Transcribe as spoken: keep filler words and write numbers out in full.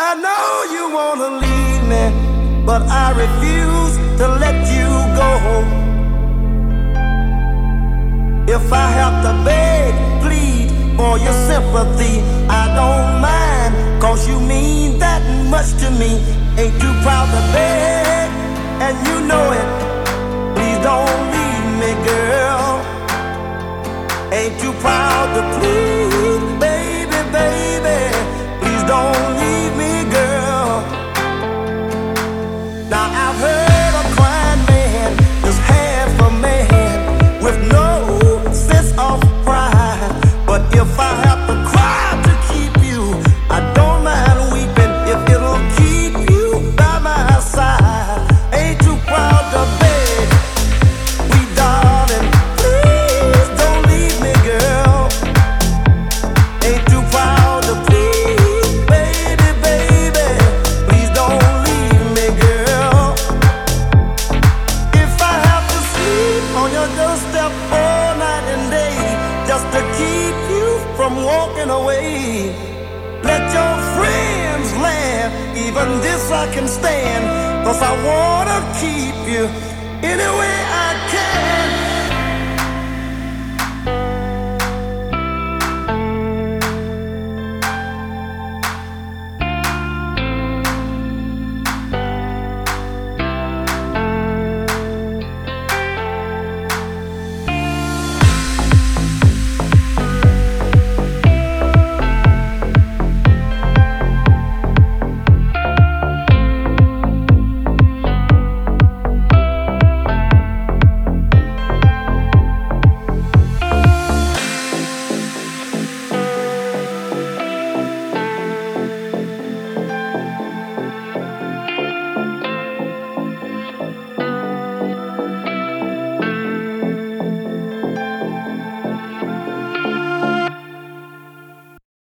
I know you wanna leave me, but I refuse to let you go. If I have to beg, plead for your sympathy, I don't mind, cause you mean that much to me. Ain't too proud to beg, and you know it. Please don't leave me, girl. Ain't too proud to plead, baby, baby. Please don't leave me, girl. Now I've heard a crying man is half a man with no sense of pride. But if I have to cry to keep you, I don't mind weeping if it'll keep you by my side. Ain't too proud to beg, sweet darling, please don't leave me, girl. Ain't too proud to please, baby, baby, please don't leave me, girl. If I have to sleep on your doorstep all night and day just to keep you from walking away, let your friends laugh, even this I can stand, cause I wanna keep you anyway.